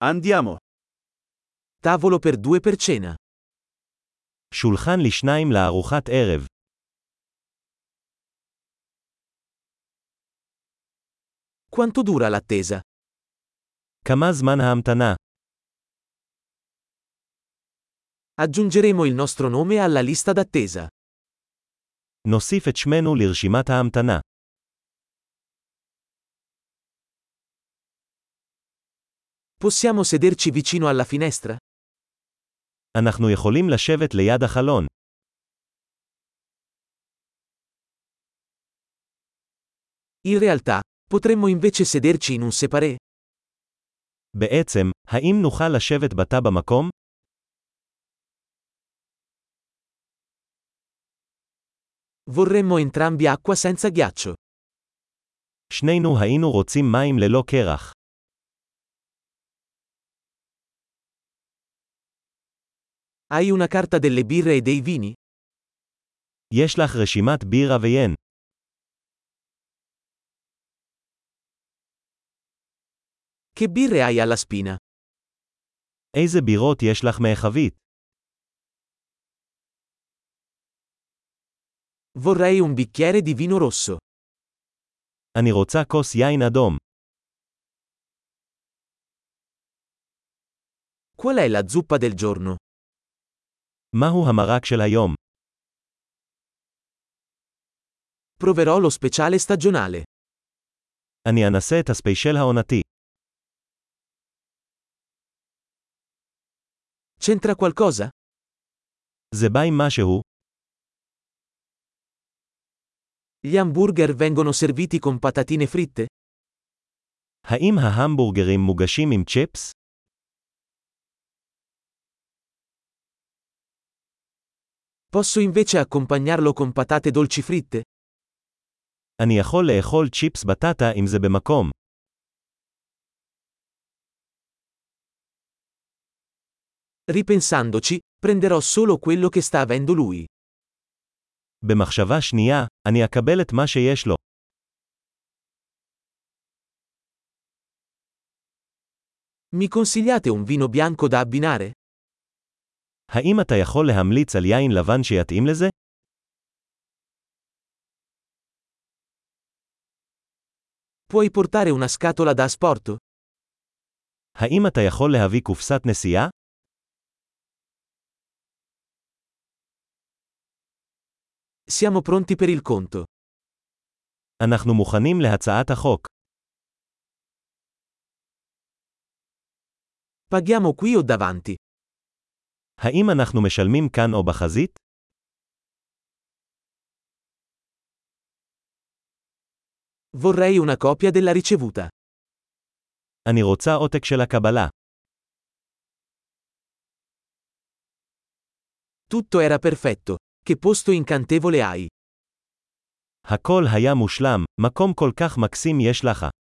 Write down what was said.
Andiamo. Tavolo per due per cena. שולחן לשניים לארוחת ערב. Quanto dura l'attesa? כמה זמן ההמתנה? Aggiungeremo il nostro nome alla lista d'attesa. נוסיף את שמנו לרשימת ההמתנה. Possiamo sederci vicino alla finestra? אנחנו יכולים לשבת ליד החלון. In realtà, potremmo invece sederci in un séparé? בעצם, האם נוכל לשבת בתא במקום? Vorremmo entrambi acqua senza ghiaccio. שנינו היינו רוצים מים ללא קרח. Hai una carta delle birre e dei vini? יש לך רשימת בירה ויין. Che birre hai alla spina? איזה בירות יש לך מהחבית? Vorrei un bicchiere di vino rosso. אני רוצה כוס יין אדום. Qual è la zuppa del giorno? מהו המרק של היום? Proverò lo speciale stagionale. אני אנסה את הספיישל העונתי. C'entra qualcosa? זה בא עם משהו? Gli hamburger vengono serviti con patatine fritte? האם ההמבורגרים מוגשים עם צ'יפס? Posso invece accompagnarlo con patate dolci fritte? אני יכול לאכול צ'יפס בטטה אם זה במקום. Ripensandoci, prenderò solo quello che sta avendo lui. במחשבה שנייה, אני אקבל את מה שיש לו. Mi consigliate un vino bianco da abbinare? האם אתה יכול להמליץ על יין לבן שיתאים לזה? Puoi portare una scatola da asporto? האם אתה יכול להביא קופסת נסיעה? Siamo pronti per il conto. אנחנו מוכנים להצעת החוק. Paghiamo qui o davanti? האם אנחנו משלמים כאן או בחזית? Vorrei una copia della ricevuta. אני רוצה עותק של הקבלה. Tutto era perfetto. Che posto incantevole hai. הכל היה מושלם, מקום כל כך מקסים יש לך.